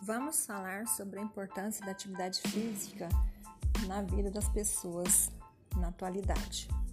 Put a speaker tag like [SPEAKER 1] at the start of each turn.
[SPEAKER 1] Vamos falar sobre a importância da atividade física na vida das pessoas na atualidade.